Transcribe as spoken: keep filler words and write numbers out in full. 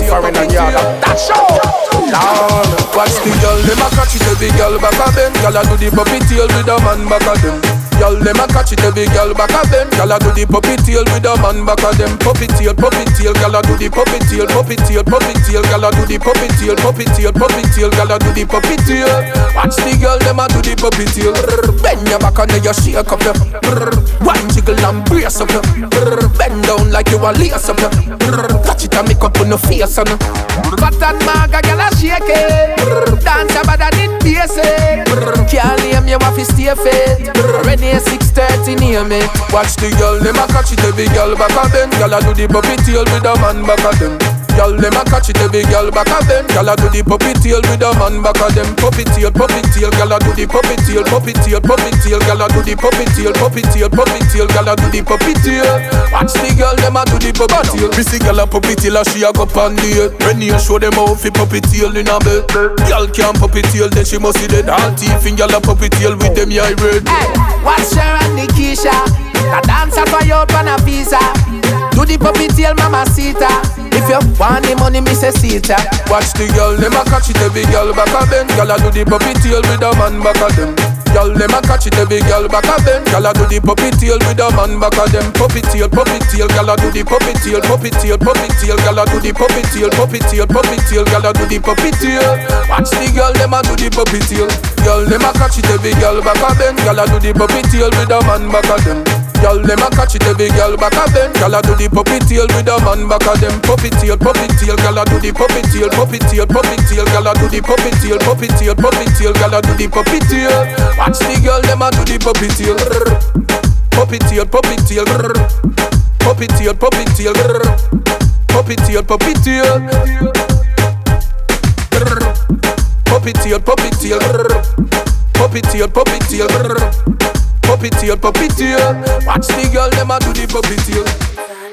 foreign and yard. That show. Down. Watch the girl, them a catch it, every girl back a bend. Girl a do the puppy tail with a man back a them. Girl, them a catch it, every girl back a bend. Girl a do the puppy tail with a man back a them. Puppy tail, puppy tail, girl a do the puppy tail, puppy tail, puppy tail, girl a do the puppy tail, puppy tail, puppy tail, girl a do the puppy tail. Watch the girl, them a do the puppy tail. Bend your back and then you shake up your. One jiggle and brace up your. Bend down like you a lace up your. Catch it and make up on your face on. Got that maga, girl a shake it. Dance about that it basic. Can't name you have to stay fit. Ready at six thirty near me. Watch the girl, them a catch it, every girl back a bend. Girl a do the puppy tail with a man back a them. Girl, them a catch it, every girl back a bend. Girl a do the puppy tail with a man back a them. Puppy tail, puppy tail, girl a do the puppy tail, puppy tail, puppy tail, girl a do the puppy tail, puppy tail, puppy tail, girl a do the puppy tail. Watch the girl, them a do the puppy tail. Missy girl a puppy tail, she a go pan the. When you show them how fi puppy tail in a bed. Girl can't puppy tail, then she must see dead. All teeth in girl a puppy tail with them eye red. Hey, watch her and Nikisha. The dancer for you on a visa. Do the puppy tail, mama sita. If you want the money, me say sita. Watch the girl, them a catch it, every girl back a bend. Girl a do the puppy tail with a man back a them. Girl, them a catch it, every girl back a bend. Girl a do the puppy tail with a man back a them. Puppy tail, puppy tail, girl a do the puppy tail, puppy tail, puppy tail, girl a do the puppy tail, puppy tail, puppy tail, girl a do the puppy tail. Watch the girl, them a do the puppy tail. Girl, them a catch it, every girl back a bend. Girl a do the puppy tail with a man back a them. Girl, them a catch it, every girl back a bend. Girl a do the puppy tail with a man back a them. Puppy tail, puppy tail, girl a do the puppy tail, puppy tail, puppy tail, girl a do the puppy tail, puppy tail, puppy tail, girl a do the puppy tail. Watch the girl, them a do the puppy tail. Puppy tail, puppy tail, puppy tail, puppy tail, puppy tail, puppy tail, puppy tail, puppy tail, puppy tail, puppy tail. Puppy tail, puppy tail. Watch the girl, them a do the puppy tail.